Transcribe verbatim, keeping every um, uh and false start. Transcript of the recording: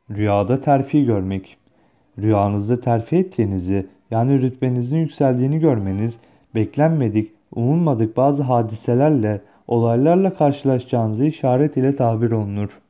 Rüyada terfi görmek. Rüyanızda terfi ettiğinizi, yani rütbenizin yükseldiğini görmeniz, beklenmedik, umulmadık bazı hadiselerle, olaylarla karşılaşacağınızı işaret ile tabir olunur.